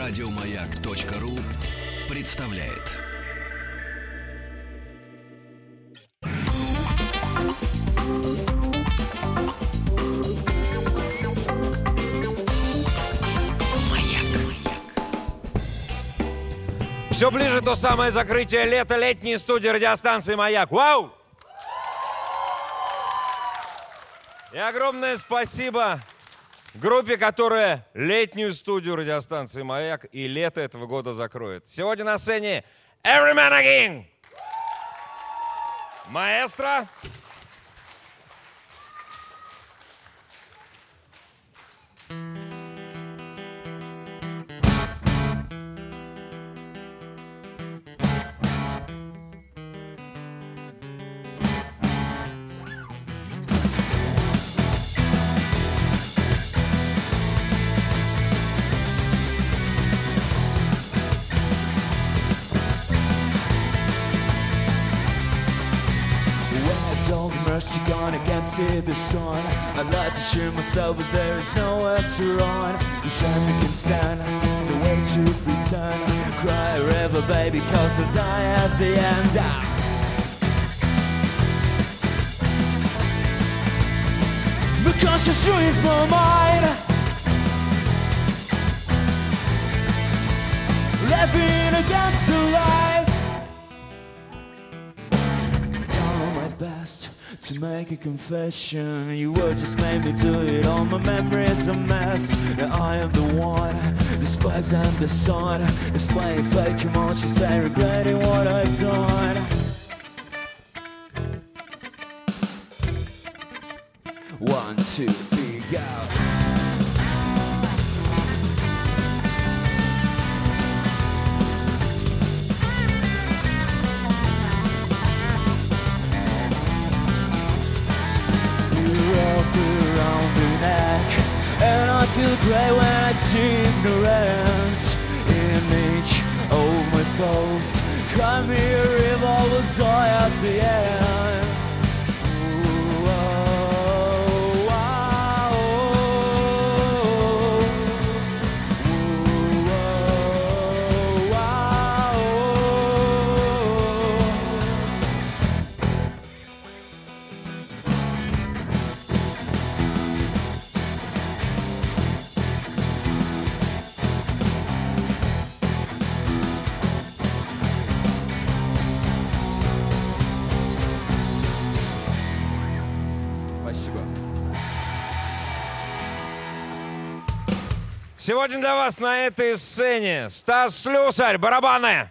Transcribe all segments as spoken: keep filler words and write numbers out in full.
Радиомаяк.ру представляет. Все ближе то самое закрытие лета летней студии радиостанции «Маяк». Вау! И огромное спасибо группе, которая летнюю студию радиостанции «Маяк» и лето этого года закроет. Сегодня на сцене Every Man a King, маэстро, mercy gone, I can't see the sun. I'd like to shoot myself, but there is nowhere to run. The traffic can stand, the way to pretend. Cry a river, baby, cause I'll die at the end. Ah. Because she streets my mind, laughing against the light. Trying my best to make a confession. You would just made me do it. All my memories a mess. And I am the one, the spice and the sun, displaying fake emotions and regretting what I've done. One, two, three, go. And I feel great when I see ignorance in each of my foes. Cry me a river, will die at the end. Ooh, oh, oh, oh. Ooh, oh, oh, сегодня для вас на этой сцене Стас Слюсарь, барабаны,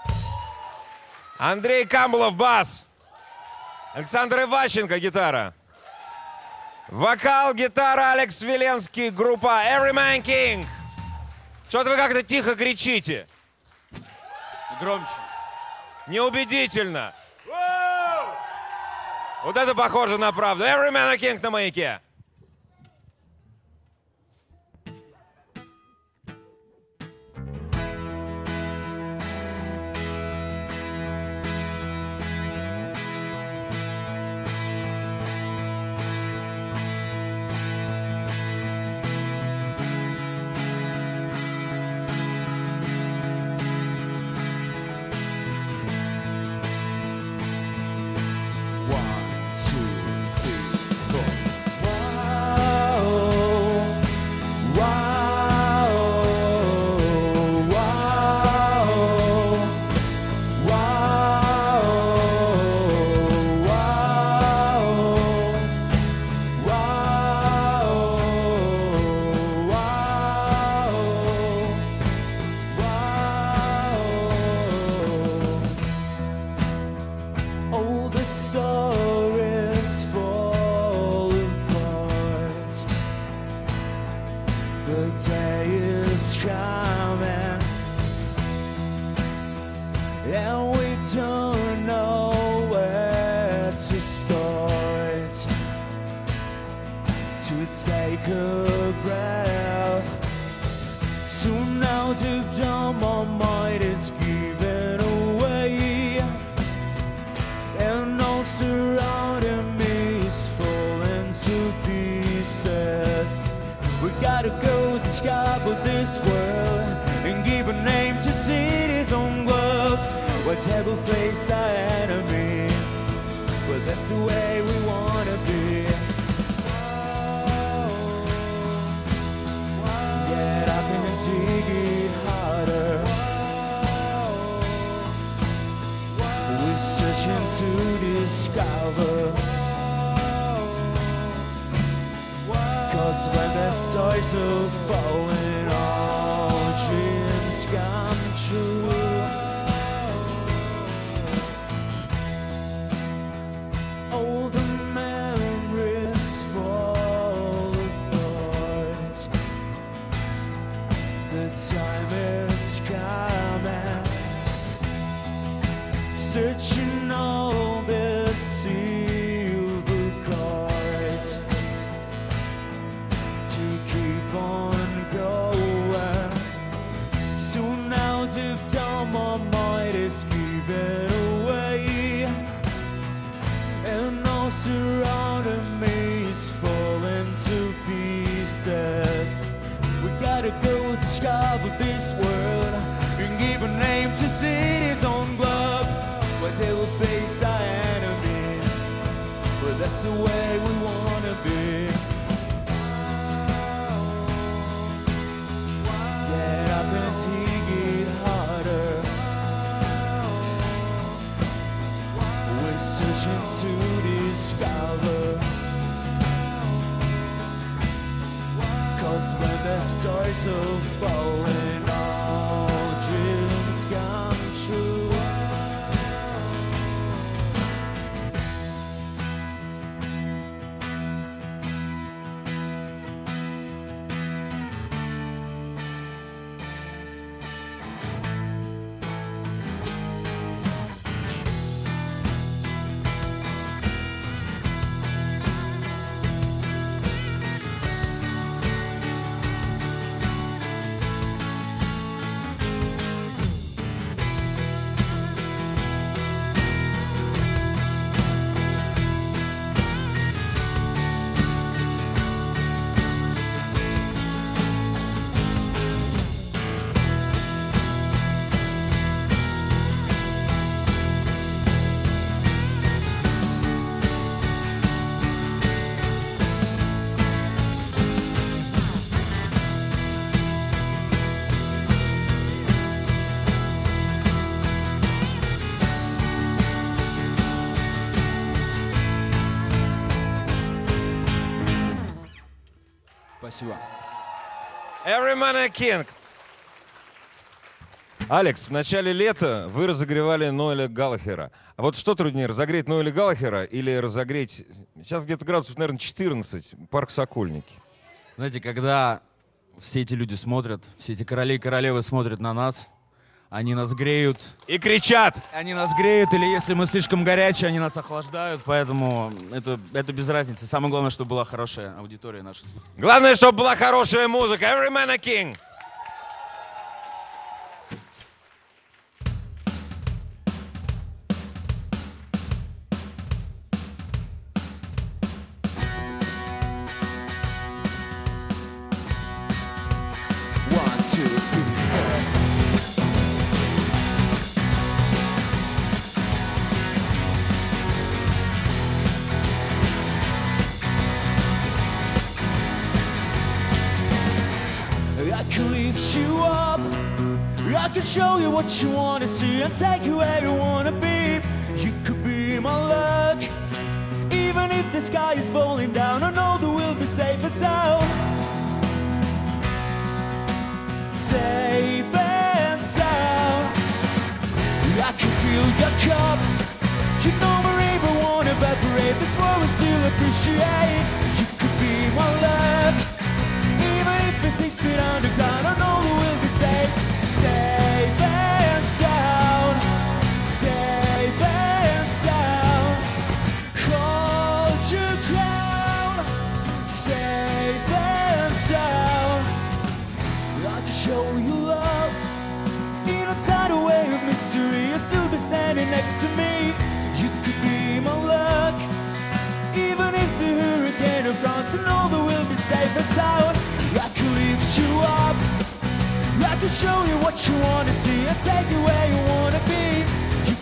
Андрей Камбулов, бас, Александр Иващенко, гитара, вокал, гитара, Алекс Веленский, группа Every Man King. Что-то вы как-то тихо кричите. Громче. Неубедительно. Вот это похоже на правду. Every Man a King на Маяке. surrounding me is falling to pieces. We gotta go to sky for this world and devil face our enemy, but that's the way we wanna be. Get up and dig it harder. We're searching to discover. Cause when the stars are falling, all dreams come true. All the memories fall apart. The time is coming. Searching all the silver cards to keep on going. So now deep down my mind is giving away, and all surrounding me is falling to pieces. We gotta go discover this world and give a name to city's own globe, where they will face our enemy, but that's the way we wanna be. Get up and dig it harder. We're searching to discover. Cause when the stars are falling, all dreams come true. Спасибо. Every Man a King. Алекс, в начале лета вы разогревали Ноэля Галлахера. А вот что труднее, разогреть Ноэля Галлахера или разогреть... Сейчас где-то градусов, наверное, четырнадцать, парк Сокольники. Знаете, когда все эти люди смотрят, все эти короли и королевы смотрят на нас, они нас греют. И кричат! Они нас греют, или если мы слишком горячие, они нас охлаждают, поэтому это, это без разницы. Самое главное, чтобы была хорошая аудитория наша. Главное, чтобы была хорошая музыка. Every Man a King. One, two, three, four. I can lift you up. I can show you what you wanna see and take you where you wanna be. You could be my luck. Even if the sky is falling down, I know that we'll be safe and sound. Safe and sound. I can feel your cup. You know my river won't evaporate. That's what we still appreciate. You could be my luck. Even if it's six feet underground, I know that we'll be safe. Safe and sound. Safe and sound. Hold your ground. Safe and sound. I can show you love in a tidal wave of mystery. You'll still be standing next to me. You could be my luck. Even if the hurricane of France, I know that we'll be safe and sound. I can lift you up. I can show you what you wanna see and take you where you wanna be. You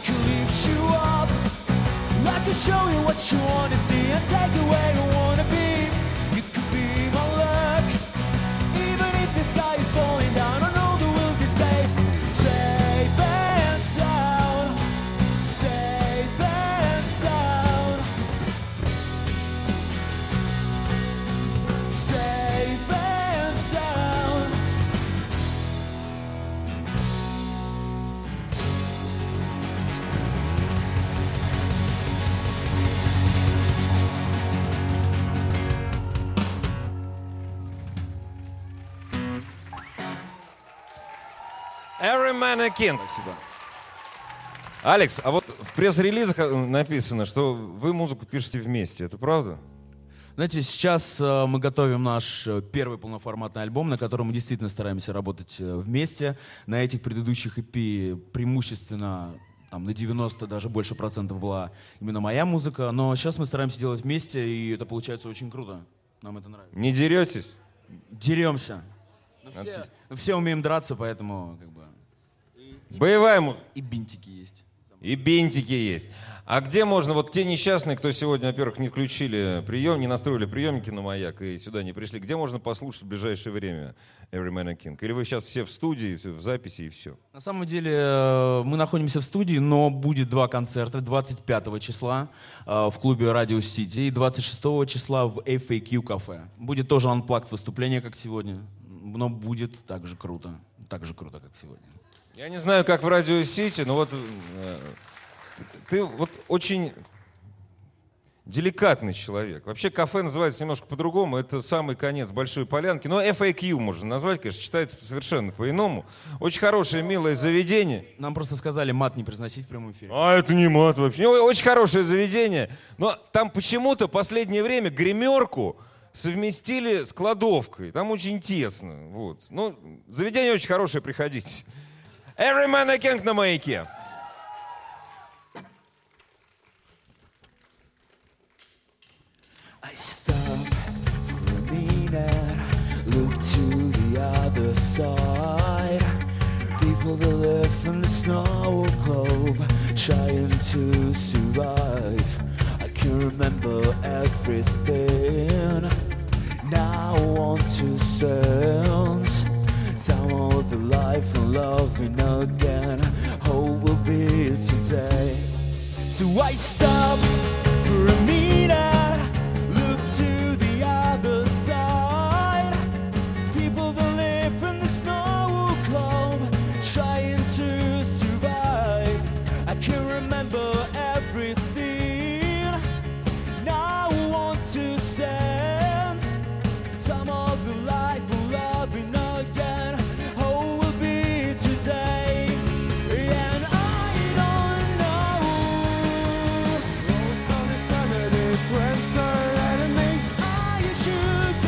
could lift you up. I could show you what you wanna see and take you where you wanna be. You could be my luck. Even if the sky is falling down, I know that we'll be safe. Safe and sound. Safe and sound. Safe and sound. Every Man a King. Спасибо. Алекс, а вот в пресс-релизах написано, что вы музыку пишете вместе. Это правда? Знаете, сейчас э, мы готовим наш э, первый полноформатный альбом, на котором мы действительно стараемся работать э, вместе. На этих предыдущих и пи преимущественно там, на девяносто, даже больше процентов была именно моя музыка. Но сейчас мы стараемся делать вместе, и это получается очень круто. Нам это нравится. Не деретесь? Деремся. Но все, но все умеем драться, поэтому как бы... И, и- Боевая музыка. и бинтики есть. И бинтики есть. А где можно, вот те несчастные, кто сегодня, во-первых, не включили прием, не настроили приемники на маяк и сюда не пришли, где можно послушать в ближайшее время Every Man a King? Или вы сейчас все в студии, в записи и все? На самом деле э, мы находимся в студии, но будет два концерта. двадцать пятого числа э, в клубе Radio City и двадцать шестого числа в эф эй кью кафе. Будет тоже unplugged выступление, как сегодня, но будет так же круто. Так же круто, как сегодня. Я не знаю, как в Радио Сити, но вот э, ты, ты вот очень деликатный человек. Вообще кафе называется немножко по-другому. Это самый конец Большой Полянки. Но эф эй кью можно назвать, конечно, читается совершенно по-иному. Очень хорошее, милое заведение. Нам просто сказали мат не произносить в прямом эфире. А это не мат вообще. Ну, очень хорошее заведение. Но там почему-то в последнее время гримерку совместили с кладовкой. Там очень тесно. Вот. Ну, заведение очень хорошее, приходите. Every Man a King на маяке. I stop for a minute, look to the other side. People that live in the snow globe, trying to survive. I can remember everything. Now I want to sense time of the life and loving again. Hope will be today. So I stop for a minute, look to the other side. People that live in the snow globe, trying to survive. I can remember everything. Now I want to sense time of the life and loving again. Hope will be today. And I don't know. Most of this time it is friends or enemies. I should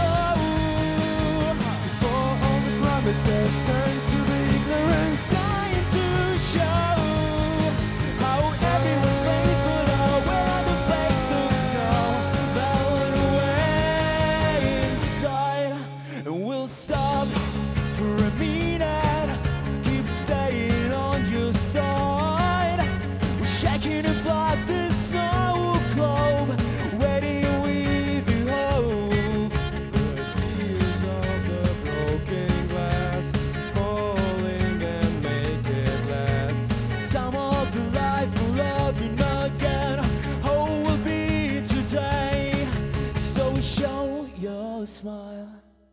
go before all the promises turn to the ignorance. Trying to show how everyone's face, but I wear the face of snow. Melting away inside, and we'll stop for a minute. Keep staying on your side. We're shaking and block the snow globe, waiting with the hope. The tears of the broken glass falling and make it last. Some of the life we're loving again. Hope will be today. So show your smile,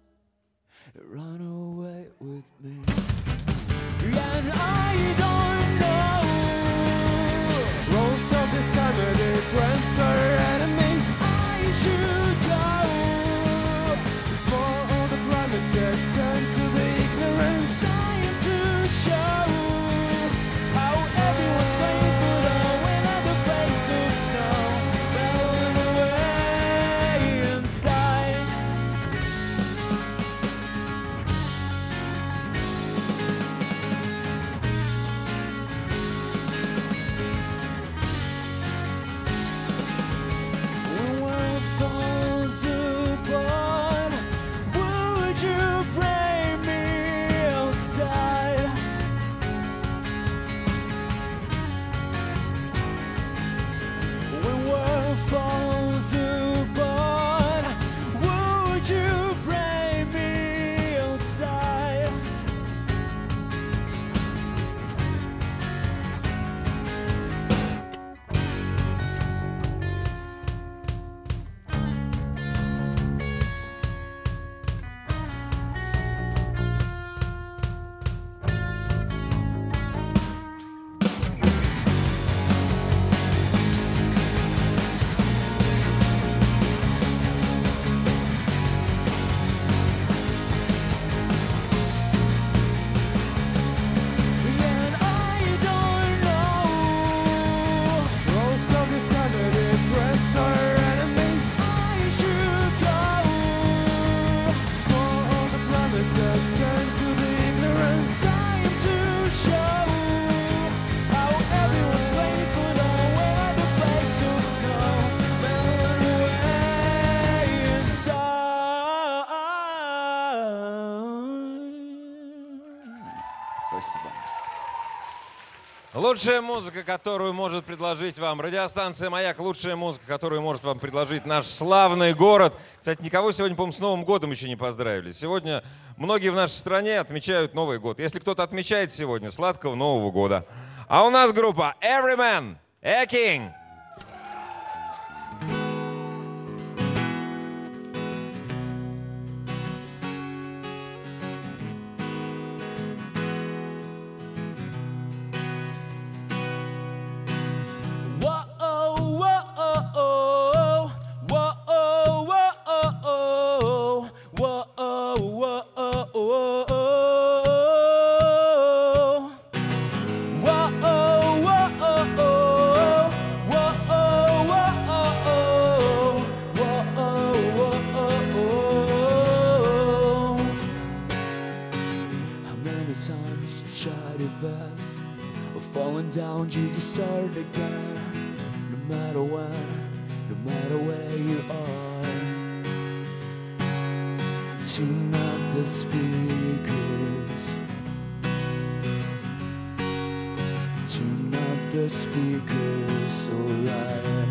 run away with me. And I don't know. Roles of this comedy, friends or enemies. I should go before all the promises turn to the ignorance. Trying to show how everyone's face, but I win at the face of snow. Melting away inside. Лучшая музыка, которую может предложить вам радиостанция «Маяк», лучшая музыка, которую может вам предложить наш славный город. Кстати, никого сегодня, по-моему, с Новым годом еще не поздравили. Сегодня многие в нашей стране отмечают Новый год. Если кто-то отмечает сегодня, сладкого Нового года. А у нас группа Everyman, A King. Down, you just start again. No matter when, no matter where you are. Tune up the speakers. Tune up the speakers, alright.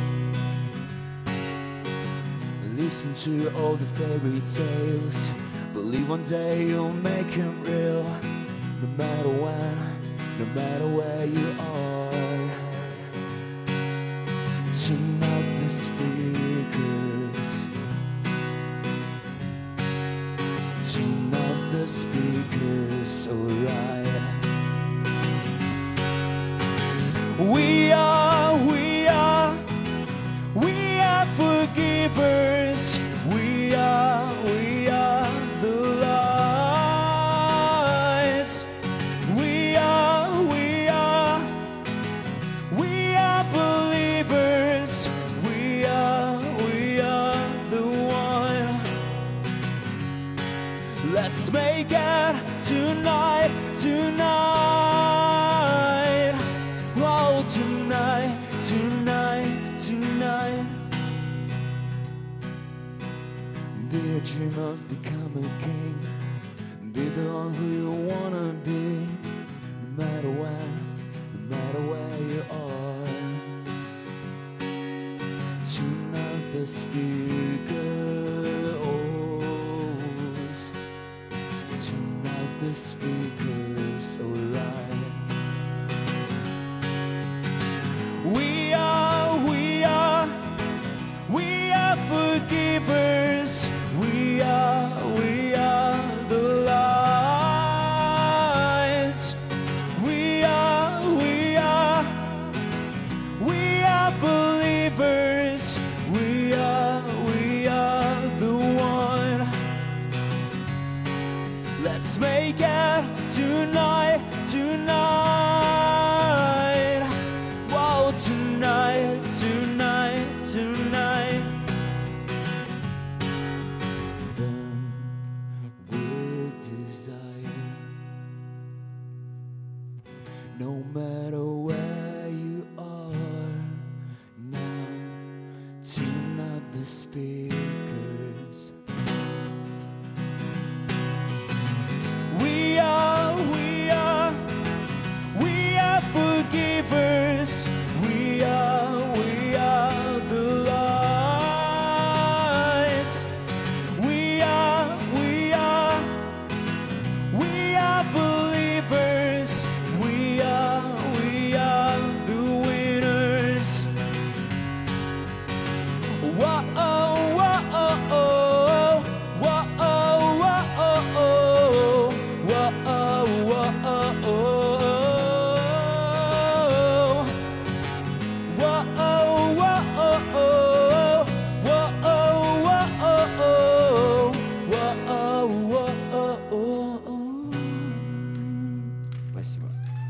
Listen to all the fairy tales. Believe one day you'll make them real. No matter when, no matter where you are. Turn up the speakers. Turn up the speakers, alright. We are, we are, we are forgivers. We are, we are the lights. We are, we are, we are believers. We are, we are the one. Let's make it tonight, tonight. Oh, tonight, tonight, tonight. Be a dreamer, become a king. Be the one who you wanna be. No matter when, no matter where you are. Tune up the speakers. Tune up the speakers, alright. We are, we are, we are forgivers. We are, we are the lights. We are, we are, we are believers. We are, we are the one. Let's make it tonight, tonight. Whoa, tonight, tonight, tonight. Burn with desire. No matter where you are now, tune up the speakers. We are, we are, we are forgivers. We are, we are the lights. We are, we are, we are believers. We are, we are the winners. Whoa, oh, whoa, oh, oh, whoa, oh, whoa, oh, oh, whoa, oh, whoa, oh, oh. Спасибо.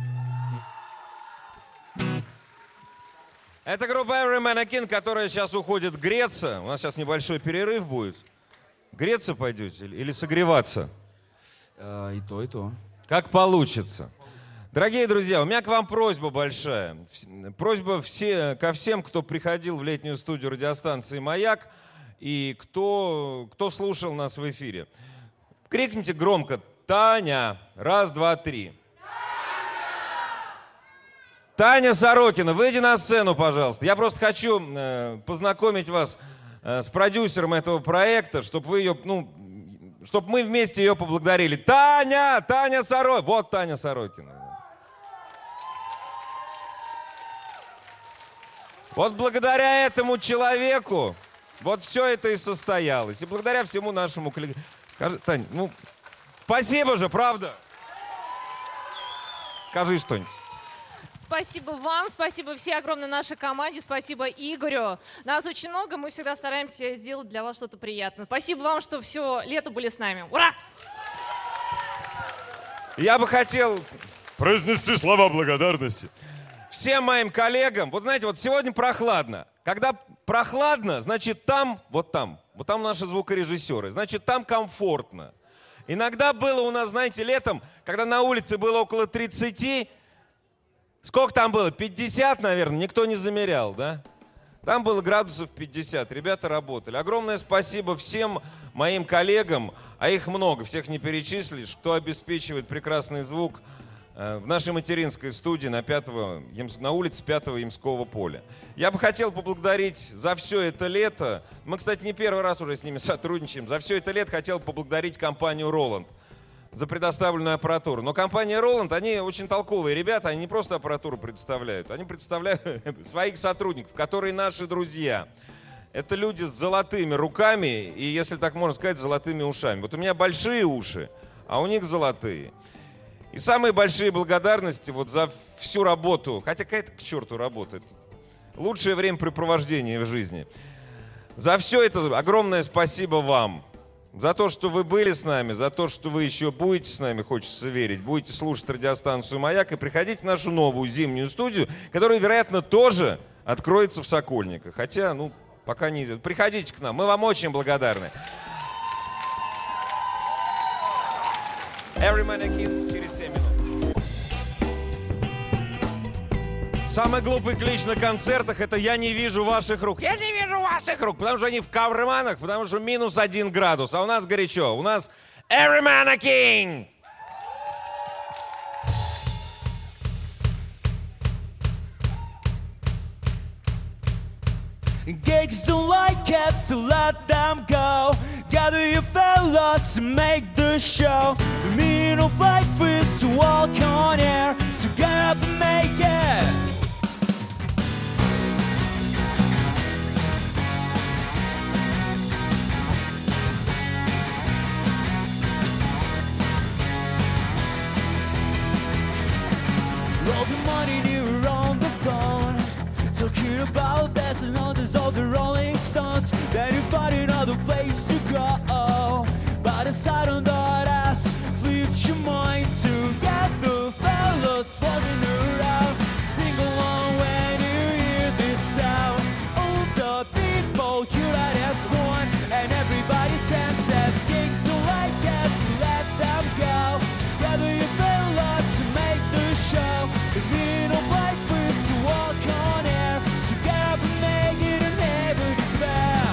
Это группа Everyman, A King, которая сейчас уходит греться. У нас сейчас небольшой перерыв будет. Греться пойдете или согреваться? А, и то, и то. Как получится. Дорогие друзья, у меня к вам просьба большая. Просьба все, ко всем, кто приходил в летнюю студию радиостанции «Маяк» и кто, кто слушал нас в эфире. Крикните громко «Таня!» Раз, два, три. Таня Сорокина, выйди на сцену, пожалуйста. Я просто хочу э, познакомить вас э, с продюсером этого проекта, чтобы вы ее, ну, чтобы мы вместе ее поблагодарили. Таня, Таня Сорокина. Вот Таня Сорокина. Вот благодаря этому человеку вот все это и состоялось. И благодаря всему нашему коллективу. Скажи, Тань, ну, спасибо же, правда? Скажи что-нибудь. Спасибо вам, спасибо всей огромной нашей команде, спасибо Игорю. Нас очень много, мы всегда стараемся сделать для вас что-то приятное. Спасибо вам, что все лето были с нами. Ура! Я бы хотел произнести слова благодарности всем моим коллегам. Вот знаете, вот сегодня прохладно. Когда прохладно, значит там, вот там, вот там наши звукорежиссеры, значит там комфортно. Иногда было у нас, знаете, летом, когда на улице было около тридцати, сколько там было? пятьдесят, наверное, никто не замерял, да? Там было градусов пятьдесят, ребята работали. Огромное спасибо всем моим коллегам, а их много, всех не перечислишь, кто обеспечивает прекрасный звук в нашей материнской студии на, пятого, на улице пятого Ямского поля. Я бы хотел поблагодарить за все это лето, мы, кстати, не первый раз уже с ними сотрудничаем, за все это лето хотел поблагодарить компанию Roland за предоставленную аппаратуру. Но компания Roland, они очень толковые ребята, они не просто аппаратуру предоставляют, они представляют своих сотрудников, которые наши друзья. Это люди с золотыми руками и, если так можно сказать, золотыми ушами. Вот у меня большие уши, а у них золотые. И самые большие благодарности вот за всю работу, хотя какая-то к черту работа, это лучшее времяпрепровождение в жизни. За все это огромное спасибо вам. За то, что вы были с нами, за то, что вы еще будете с нами, хочется верить, будете слушать радиостанцию «Маяк» и приходить в нашу новую зимнюю студию, которая, вероятно, тоже откроется в Сокольниках. Хотя, ну, пока не идет. Приходите к нам, мы вам очень благодарны. Every Man a Kid через семь минут. Самый глупый клич на концертах — это «я не вижу ваших рук». Я не вижу ваших рук, потому что они в карманах, потому что минус один градус. А у нас горячо. У нас Every Man a King. Gigs don't like cats, so let them go. Gather your fellas and make the show. The meaning of life is to walk on air, so get up and make it. All the money you're on the phone, talking about this and others of the Rolling Stones. Then you find another place to go, but aside on that ass, flip your mind to get the fellas walking around. Sing along when you hear this sound. All the people unite as one, and everybody senses gigs don't like cats, let them go. Gather your fellas to make the show. The meaning of life is to walk on air, to get up and make it and never despair.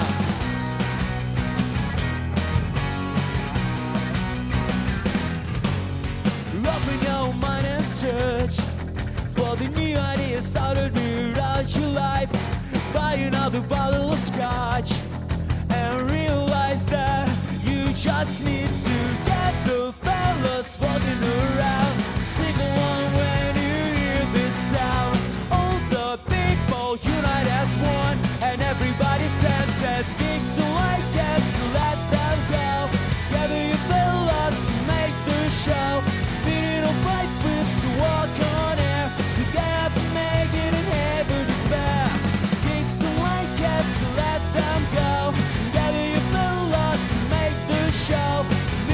Open your mind and search for the new ideas out of your life. Buy another bottle of scotch and realize that you just need to get the fellas walking around. Sing along when you hear this sound. All the people unite as one, and everybody senses gigs don't like cats, so let them go. Gather your fellas to make the show. Meaning of life is to walk on air, to get up and make it and never despair. Gigs don't like cats, so let them go. Gather your fellas to make the show.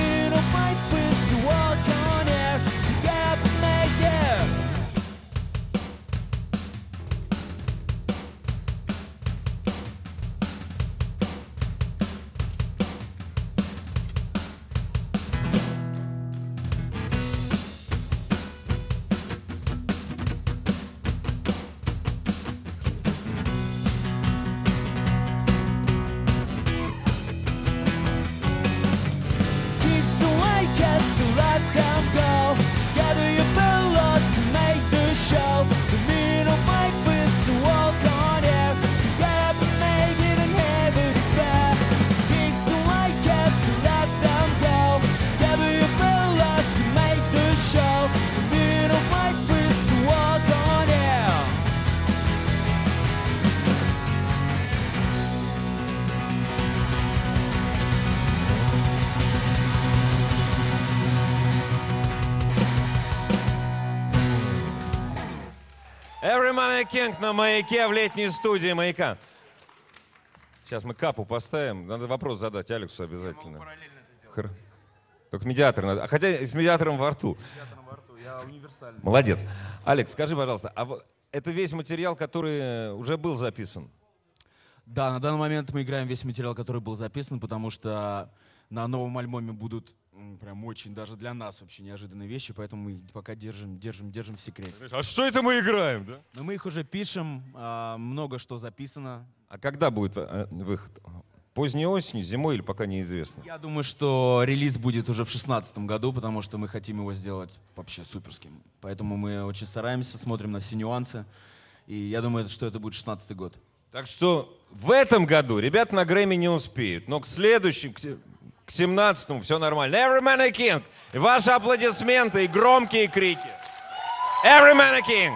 Every Man King на Маяке в летней студии Маяка. Сейчас мы капу поставим. Надо вопрос задать Алексу обязательно. Хр... Только медиатор надо. Хотя с медиатором во рту. С медиатором во рту. Я универсальный. Молодец. Алекс, скажи, пожалуйста, а это весь материал, который уже был записан? Да, на данный момент мы играем весь материал, который был записан, потому что на новом альбоме будут прям очень даже для нас вообще неожиданные вещи, поэтому мы пока держим, держим, держим в секрете. А что это мы играем, да? Но мы их уже пишем, много что записано. А когда будет выход? Поздней осенью, зимой или пока неизвестно? Я думаю, что релиз будет уже в шестнадцатом году, потому что мы хотим его сделать вообще суперским. Поэтому мы очень стараемся, смотрим на все нюансы. И я думаю, что это будет шестнадцатый год. Так что в этом году ребята на Грэмми не успеют, но к следующему, к семнадцатому все нормально. Every Man a King. И ваши аплодисменты и громкие крики. Every Man a King.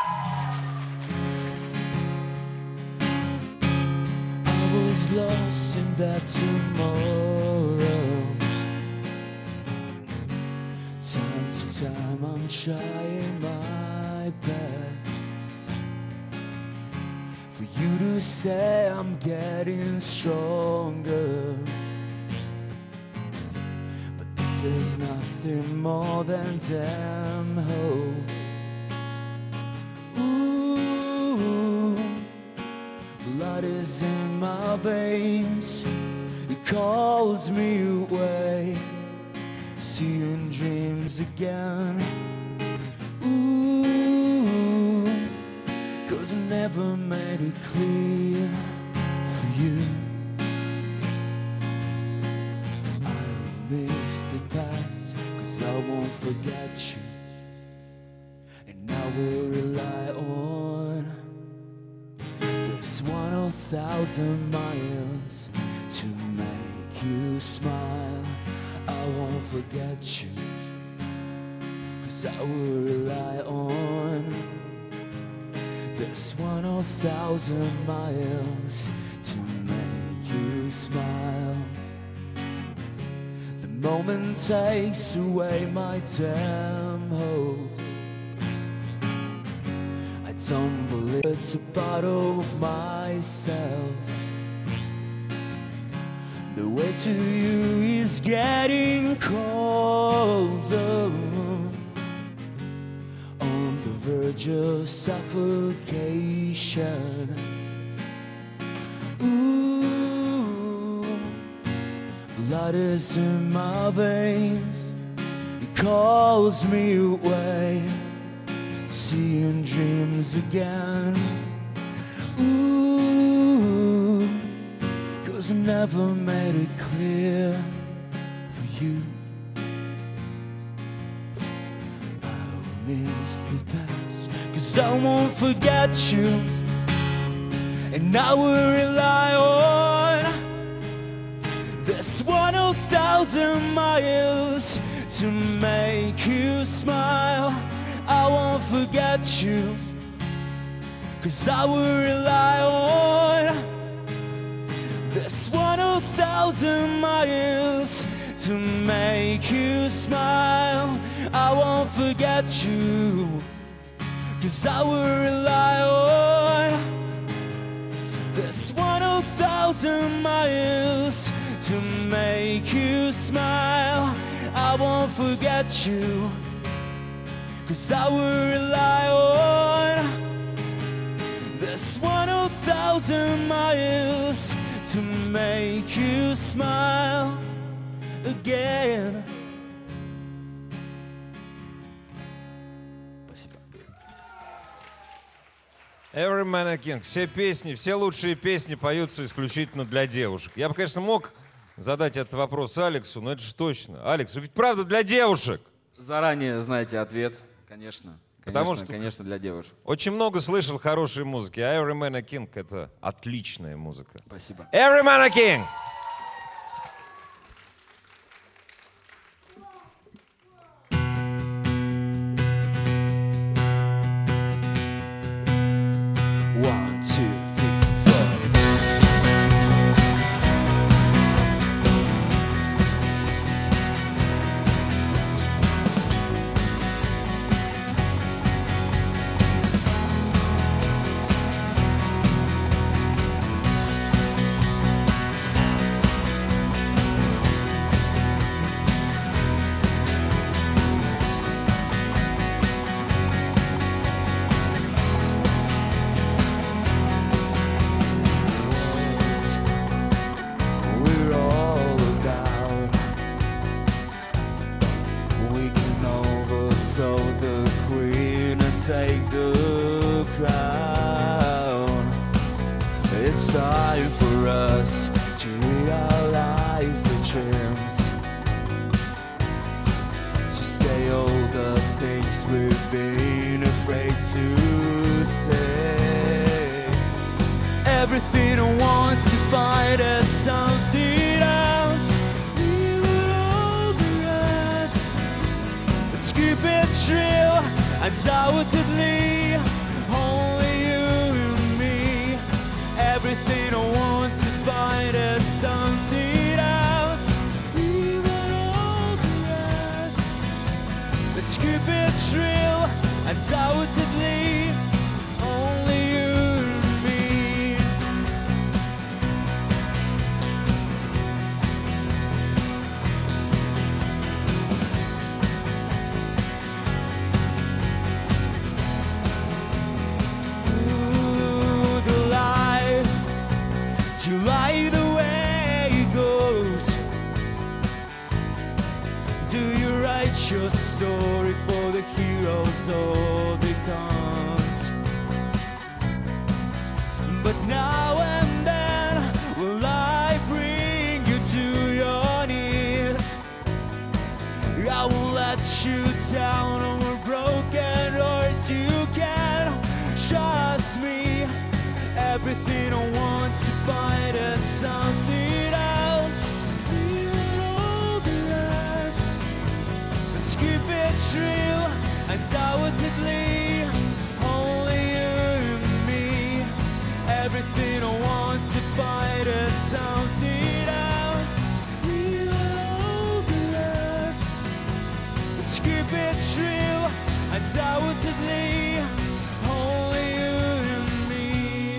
I was lost in that tomorrow. Time to time I'm trying my best for you to say I'm getting stronger. There's nothing more than damn hope. Ooh, blood is in my veins. It calls me away, seeing dreams again. Ooh, 'cause I never made it clear for you. Miss the past, 'cause I won't forget you. And I will rely on this one oh thousand miles to make you smile. I won't forget you, 'cause I will rely on this one oh thousand miles to make you smile. Moment takes away my damn hopes. I tumble, it's a part of myself. The way to you is getting colder, on the verge of suffocation. Ooh, blood is in my veins. It calls me away, seeing dreams again. Ooh, 'cause I never made it clear for you. I'll miss the past, 'cause I won't forget you. And I will rely on this one oh thousand miles to make you smile. I won't forget you, 'cause I will rely on this one oh thousand miles to make you smile. I won't forget you, 'cause I will rely on this one oh thousand miles to make you smile. I won't forget you, 'cause I will rely on this one oh thousand miles to make you smile again. Every Man a King. Все песни, все лучшие песни поются исключительно для девушек. Я бы, конечно, мог задать этот вопрос Алексу, но это же точно. Алекс, ведь правда для девушек. Заранее знаете ответ, конечно. Потому Конечно, что конечно, для девушек. очень много слышал хорошей музыки, а Every Man a King — это отличная музыка. Спасибо. Every Man a King! One, two, three, four. chance to say all the things we've been afraid to say. Everything I want to find is something else. Leave all the rest. Let's keep it true. Undoubtedly, only you and me. Everything I want to find is something else. Leave all the rest. Let's keep it true. Undoubtedly, only you and me. Ooh, the life, do you like the way it goes? Do you write your story for the heroes or the cons? But now and then, will life bring you to your knees? I will let you down on a broken heart. You can trust me. Everything I want to find is something else. Leave all the rest. Let's keep it real. Undoubtedly, only you and me. Everything I want to find is something else. Leave all the rest. Let's keep it real. Undoubtedly, only you and me.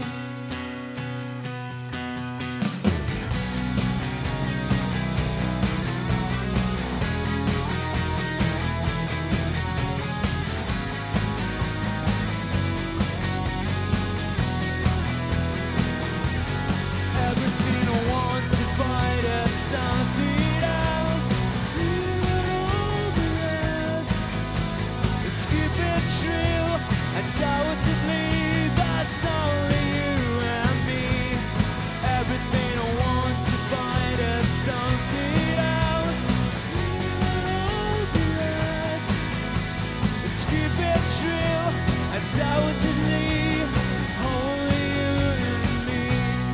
Everything I want to find is something else. Leave all the rest. Let's keep it real. Undoubtedly, that's only you and me. Everything I want to find is something else. Leave all the rest. Let's keep it real. Undoubtedly, only you and me.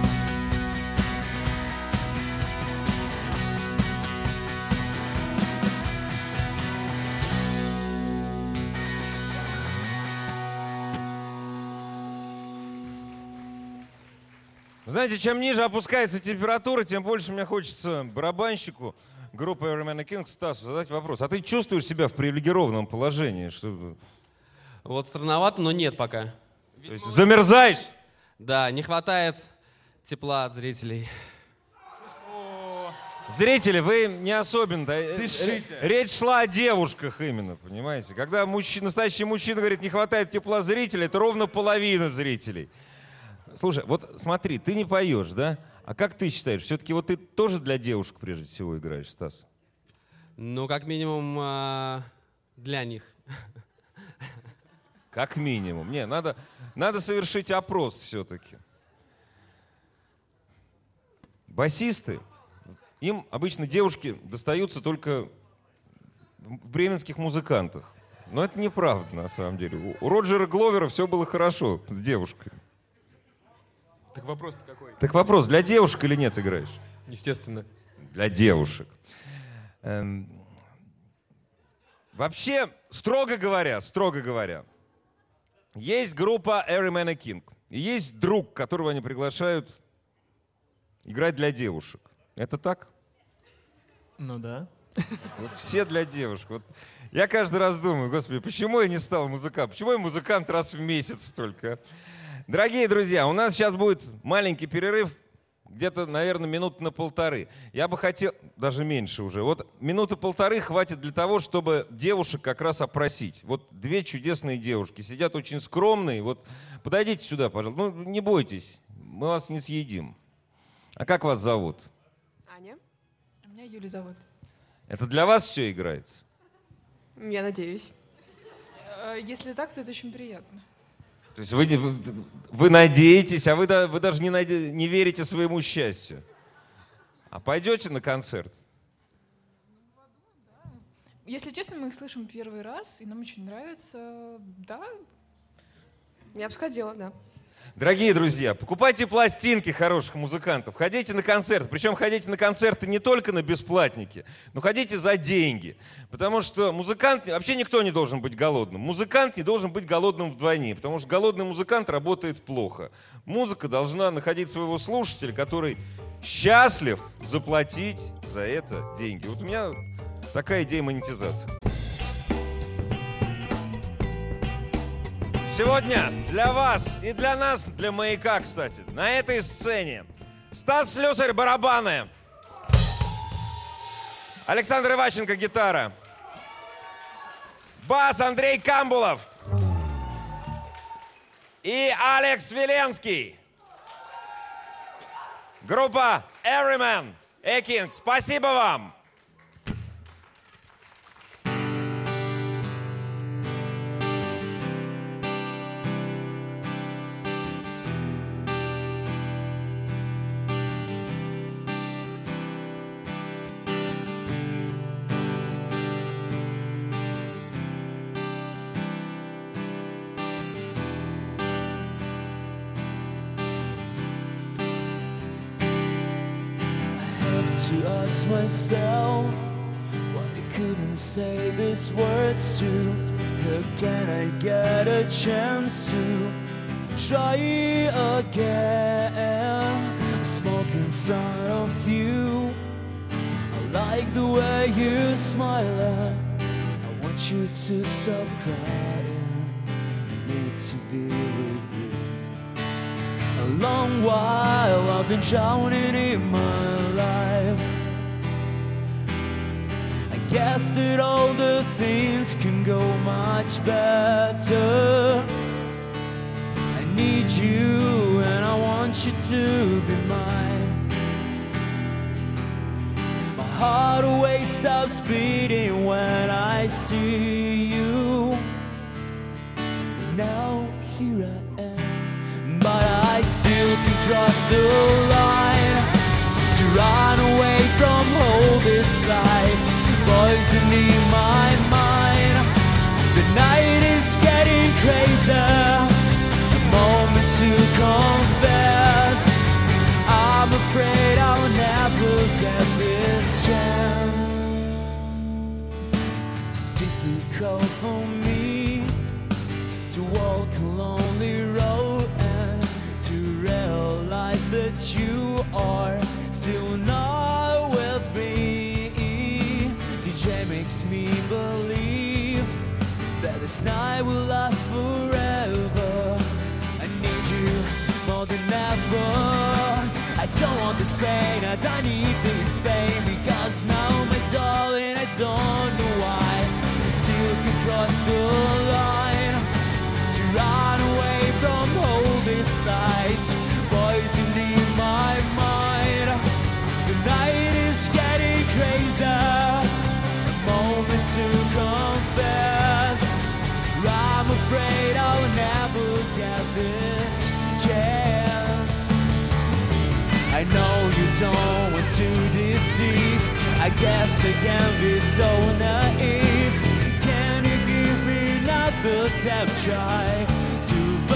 Знаете, чем ниже опускается температура, тем больше мне хочется барабанщику группы Every Man a King Стасу задать вопрос. А ты чувствуешь себя в привилегированном положении? Что, Вот странновато, но нет пока. то есть замерзаешь? Да, не хватает тепла от зрителей. Зрители, вы не особенно. Дышите. Речь шла о девушках именно, понимаете? Когда мужчина, настоящий мужчина говорит, не хватает тепла зрителей, это ровно половина зрителей. Слушай, вот смотри, ты не поешь, да? А как ты считаешь, все-таки вот ты тоже для девушек прежде всего играешь, Стас? Ну, как минимум, а, для них. Как минимум. Не, надо, надо совершить опрос все-таки. Басисты, им обычно девушки достаются только в бременских музыкантах. Но это неправда, на самом деле. У Роджера Гловера все было хорошо с девушкой. Так вопрос-то какой? Так вопрос, для девушек или нет играешь? Естественно. Для девушек. Эм, Вообще, строго говоря, строго говоря, есть группа Every Man a King. И есть друг, которого они приглашают играть для девушек. Это так? Ну да. Вот все для девушек. Вот я каждый раз думаю, господи, почему я не стал музыкантом? Почему я музыкант раз в месяц только? Дорогие друзья, у нас сейчас будет маленький перерыв, где-то, наверное, минут на полторы. Я бы хотел, даже меньше уже, вот минуты полторы хватит для того, чтобы девушек как раз опросить. Вот две чудесные девушки, сидят очень скромные. Вот подойдите сюда, пожалуйста. Ну, не бойтесь, мы вас не съедим. А как вас зовут? Аня. А меня Юля зовут. Это для вас все играется? Я надеюсь. Если так, то это очень приятно. То есть вы, вы, вы надеетесь, а вы, да, вы даже не, наде, не верите своему счастью. А пойдете на концерт? Если честно, мы их слышим первый раз, и нам очень нравится. Да, Я бы сходила, да. Дорогие друзья, покупайте пластинки хороших музыкантов, ходите на концерты. Причем ходите на концерты не только на бесплатники, но ходите за деньги. Потому что музыкант, вообще никто не должен быть голодным. Музыкант не должен быть голодным вдвойне, потому что голодный музыкант работает плохо. Музыка должна находить своего слушателя, который счастлив заплатить за это деньги. Вот у меня такая идея монетизации. Сегодня для вас и для нас, для «Маяка», кстати, на этой сцене Стас Слюсарь — барабаны, Александр Иващенко — гитара, бас Андрей Камбулов и Алекс Веленский. Группа Everyman King. Спасибо вам! To ask myself why I couldn't say these words to. How can I get a chance to try again? I smoke in front of you. I like the way you smile. I want you to stop crying. I need to be with you. A long while I've been drowning in my life. I guess that all the things can go much better. I need you and I want you to be mine. My heart always stops beating when I see you. Now here I am, but I still can cross the line to run away from all these lies poisoning my mind. The night is getting crazier, a moment to confess. I'm afraid I'll never get this chance. It's difficult for me to walk a lonely road and to realize that you are still not with me. D J makes me believe that this night will last forever. I need you more than ever. I don't want this pain, I don't need this pain. Because now, my darling, I don't know why I still can cross the line to run away from all these lies poisoning my mind. The night is getting crazier, a moment to confess. I'm afraid I'll never get this chance. I know you don't want to deceive. I guess I can be so naive. Can you give me another damn try to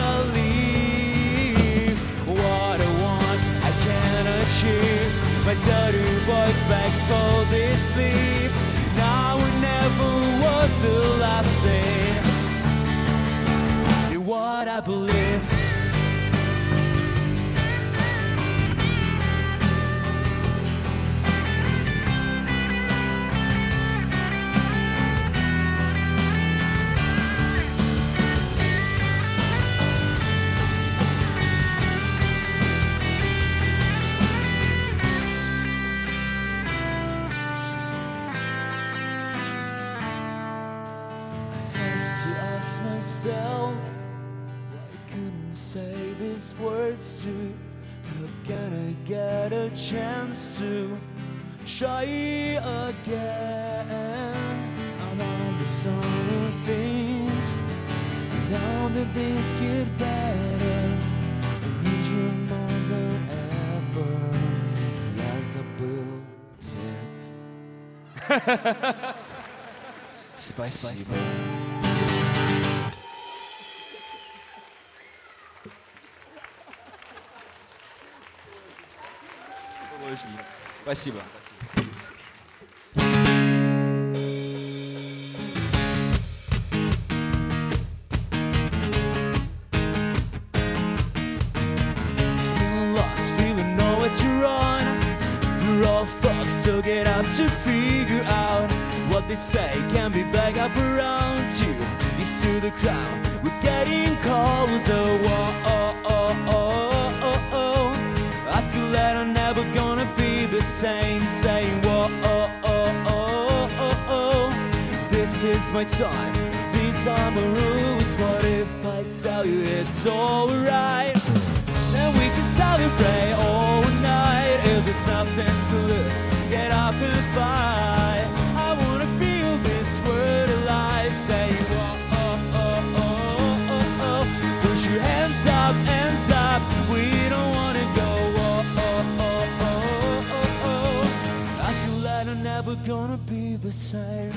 believe what I want I can achieve? My dirty voice begs for this sleep. Now it never was the last thing in what I believe. Myself, why I couldn't say these words to. How can I get a chance to try again? I'm on the sort of things. Now that things get better, I need you more than ever. Я забыл текст. Спасибо. Спасибо. Lost, feeling nowhere to run. We're all thugs, so get up to figure out what they say can be back up around you. Used to the crowd, we're getting closer. Whoa, oh, oh, oh, oh, oh. I feel that I'm never gonna be the same. Saying whoa, oh, oh, oh, oh, oh. This is my time, these are my rules. What if I tell you it's alright? Then we can celebrate all night. If there's nothing to lose, get up and fight. I wanna feel this world alive. Say whoa, oh, oh, oh, oh, oh. Put your hands up, hands up. We don't wanna go whoa, oh, oh, oh, oh, oh. I feel like I'm never gonna be the same.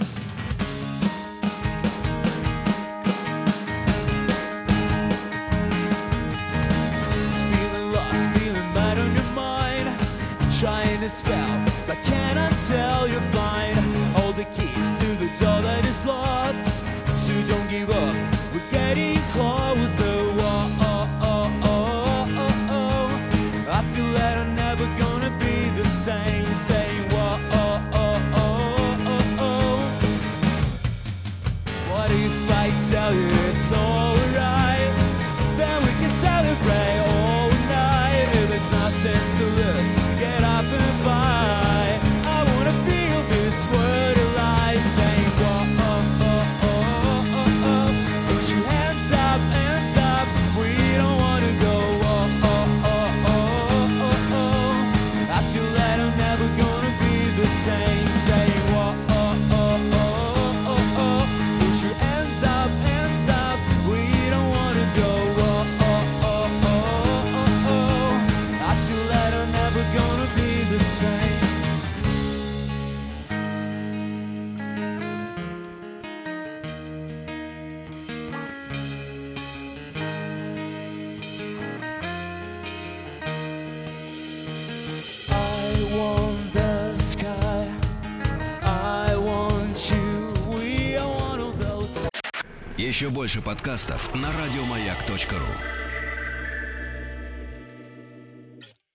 Trying to spell, but cannot tell you're fine. All the keys to the door that is locked, so don't give up, we're getting closer. Whoa, oh, oh, oh, oh, oh. I feel that I'm never gonna be the same. Saying whoa, oh, oh, oh, oh, oh. What if I tell you it's alright? Then we can celebrate all night. If there's nothing to lose, get up and fight. I wanna feel this world alive. Saying whoa, oh, oh, oh, oh, oh. Put your hands up, hands up. We don't wanna go whoa, oh, oh, oh, oh, oh. I feel that I'm never gonna be the same. Saying whoa, oh, oh, oh, oh, oh. Put your hands up, hands up. We don't wanna go whoa, oh, oh, oh, oh, oh. I feel that I'm never gonna be the same. I want the sky, I want you, we are one of those. Еще больше подкастов на радиомаяк точка ру.